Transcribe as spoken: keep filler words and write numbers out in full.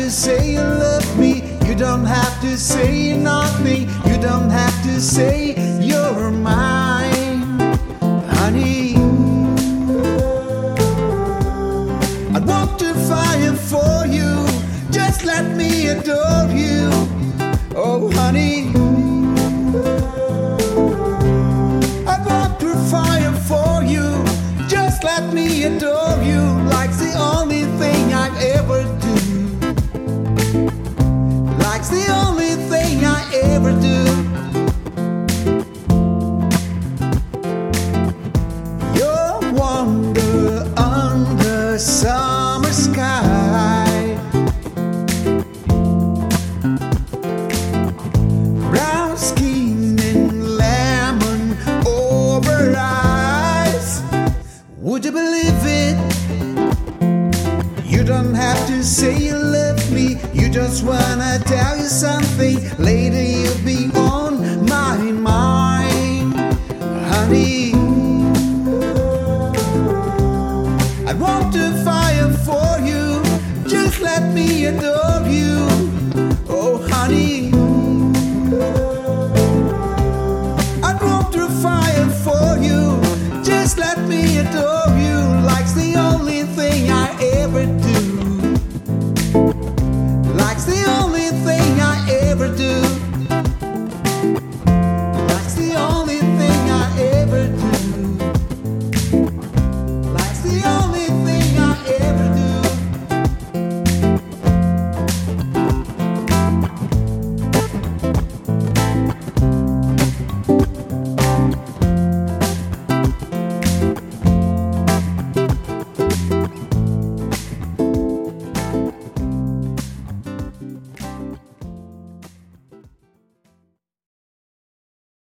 to say you love me. You don't have to say nothing. You don't have to say you're mine, honey. I want to fire for you. Just let me adore you. Oh, honey. I want to fire for you. Just let me adore you. Like's the only thing I ever do. Like's the only thing I ever do. Your wonder under summer sky, brown skin and lemon over eyes. Would you believe it? You don't have to say you love me. You just wanna tell you something. Later you'll be on my mind, honey. I want to fire for you. Just let me adore